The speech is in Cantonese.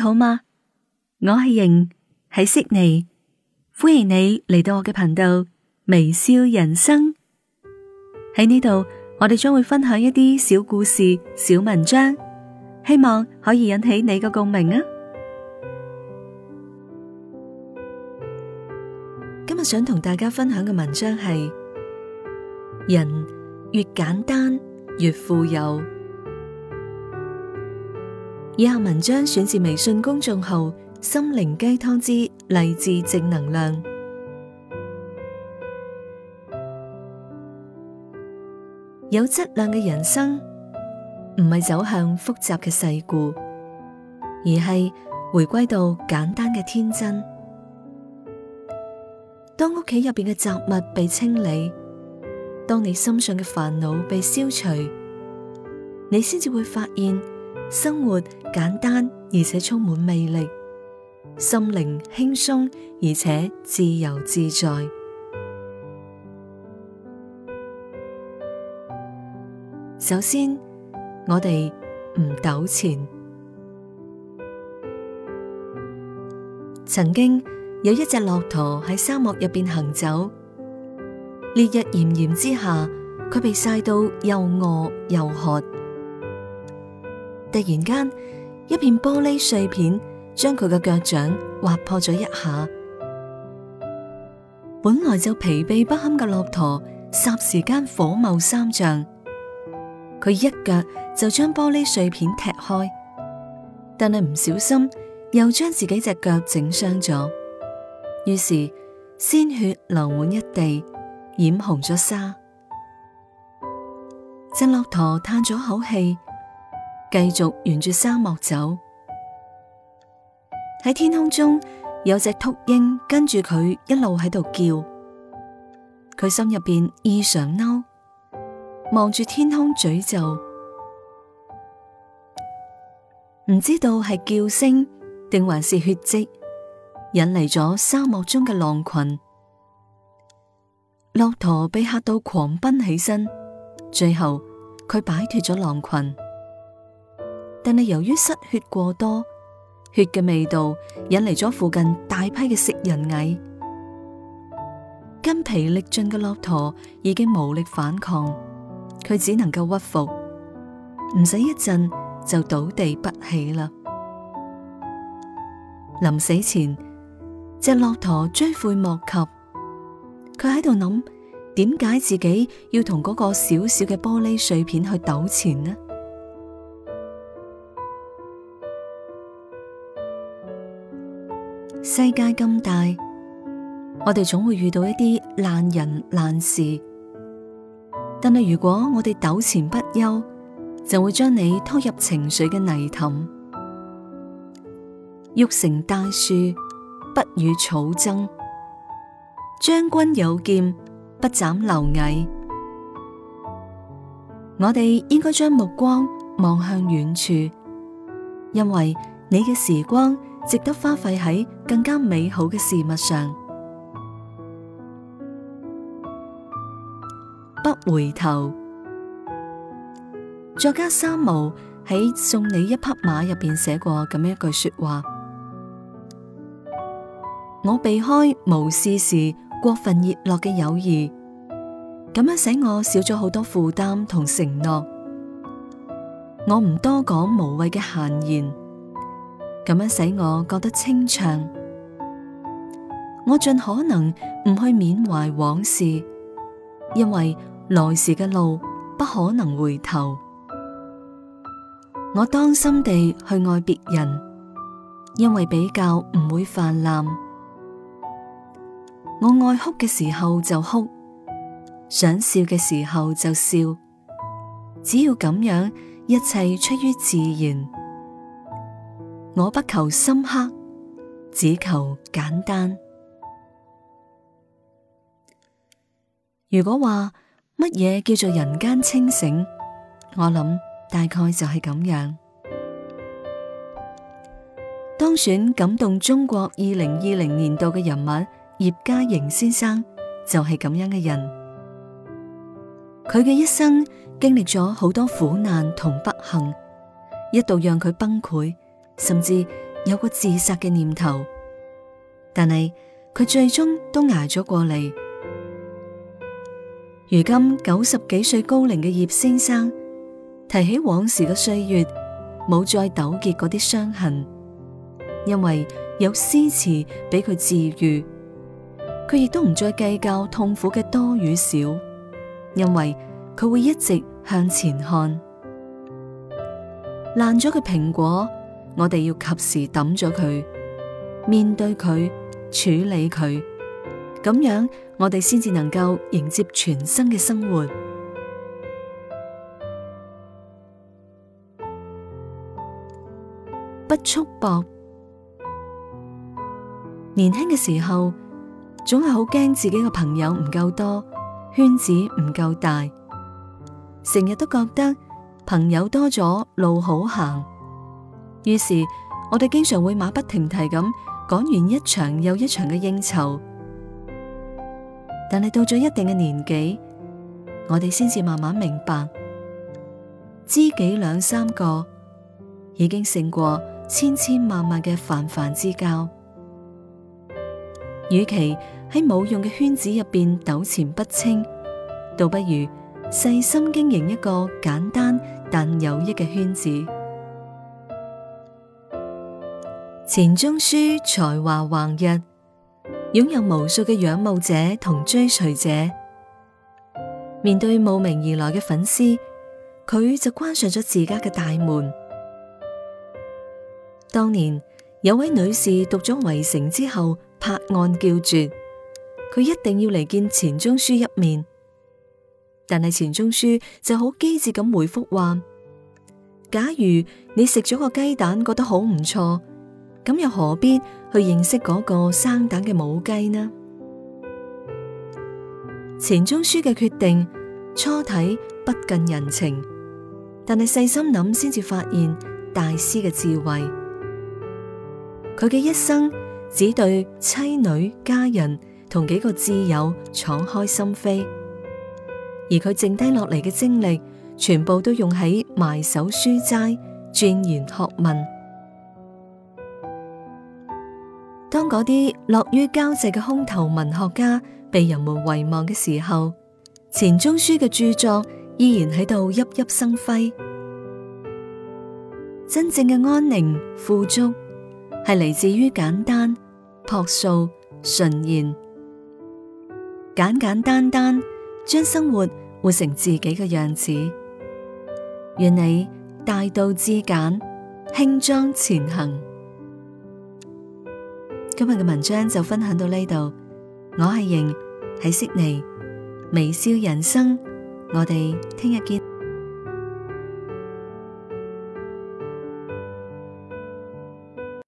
好嗎？我係瑩，喺悉尼，歡迎你嚟到我嘅頻道微笑人生。喺呢度，我哋將會分享一啲小故事、小文章，希望可以引起你嘅共鳴啊！今日想同大家分享嘅文章係：人越簡單越富有。以下文章選自微信公眾號心靈雞湯之勵志正能量。有質量嘅人生唔係走向複雜嘅世故，而係回歸到簡單嘅天真。當屋企入邊嘅雜物被清理，當你心上嘅煩惱被消除，你先至會發現生活簡單而且充滿魅力，心靈輕鬆而且自由自在。首先，我哋唔糾纏。曾經有一隻駱駝喺沙漠入邊行走，烈日炎炎之下，佢被曬到又餓又渴。突然間，一片玻璃碎片將佢嘅腳掌劃破咗一下。本來就疲憊不堪嘅駱駝，霎時間火冒三丈，佢一腳就將玻璃碎片踢開，但係唔小心又將自己隻腳整傷咗，於是鮮血流滿一地，染紅咗沙。隻駱駝嘆咗口氣，繼續沿住沙漠走。喺天空中有隻禿鷹跟住佢一路喺度叫，佢心入邊異常嬲，望住天空詛咒，唔知道係叫聲定還是血跡引嚟咗沙漠中嘅狼群。駱駝被嚇到狂奔起身，最後佢擺脫咗狼群。但係由於失血過多，血嘅味道引嚟咗附近大批嘅食人蟻。筋疲力盡嘅駱駝已經無力反抗，佢只能夠屈服，唔使一陣就倒地不起啦。臨死前，隻駱駝追悔莫及，佢喺度諗，點解自己要同嗰個小小嘅玻璃碎片去糾纏呢？世界咁大，我哋總會遇到一啲爛人爛事，但係如果我哋糾纏不休，就會將你拖入情緒嘅泥潭。欲成大樹，不與草爭；將軍有劍，不斬螻蟻。我哋應該將目光望向遠處，因為你嘅時光值得花費喺更加美好嘅事物上。不回頭。作家三毛喺《送你一匹馬》入邊寫過咁樣一句說話：我避開無事時過分熱絡嘅友誼，咁樣使我少咗好多負擔同承諾。我唔多講無謂嘅閒言，咁樣使我覺得清暢。我盡可能唔去緬懷往事，因為來時嘅路不可能回頭。我當心地去愛別人，因為比較唔會泛濫。我愛哭嘅時候就哭，想笑嘅時候就笑，只要咁樣，一切出於自然。我不求深刻，只求簡單。如果話乜嘢叫做人間清醒，我諗大概就係咁樣。當選感動中國2020年度嘅人物葉嘉瑩先生就係咁樣嘅人。佢嘅一生經歷咗好多苦難同不幸，一度讓佢崩潰，甚至有過自殺嘅念頭，但係佢最終都捱咗過嚟。如今90幾歲高齡嘅葉先生提起往時嘅歲月，冇再糾結嗰啲傷痕，因為有詩詞俾佢治癒。佢亦都唔再計較痛苦嘅多與少，因為佢會一直向前看。爛咗嘅蘋果，我哋要及時抌咗佢，面對佢，處理佢，咁樣我哋先至能夠迎接全新嘅生活。不束縛。年輕嘅時候，總係好驚自己嘅朋友唔夠多，圈子唔夠大，成日都覺得朋友多咗路好行。於是我哋經常會馬不停蹄咁趕完一場又一場嘅應酬。但係到咗一定嘅年紀，我哋先至慢慢明白，知己2、3個已經勝過千千萬萬嘅泛泛之交。與其喺冇用嘅圈子入邊糾纏不清，倒不如細心經營一個簡單但有益嘅圈子。錢鍾書才華橫溢，擁有無數嘅仰慕者同追隨者。面對慕名而來嘅粉絲，佢就關上咗自家嘅大門。當年有位女士讀咗《圍城》之後拍案叫絕，佢一定要嚟見錢鍾書一面。但係錢鍾書就好機智咁回覆話：假如你食咗個雞蛋覺得好唔錯，咁又何必去認識嗰個生蛋嘅母雞呢？錢鍾書嘅決定初睇不近人情，但係細心諗先至發現大師嘅智慧。佢嘅一生只對妻女、家人同幾個摯友敞開心扉，而佢剩低落嚟嘅精力，全部都用喺埋首書齋、鑽研學問。當嗰啲樂於交際嘅空頭文學家被人們遺忘嘅時候，錢鍾書嘅著作依然喺度熠熠生輝。真正嘅安寧富足，係嚟自於簡單、樸素、純然，簡簡單單將生活活成自己嘅樣子。願你大道至簡，輕裝前行。今日嘅文章就分享到呢度，我係瑩，喺悉尼微笑人生，我哋聽日見。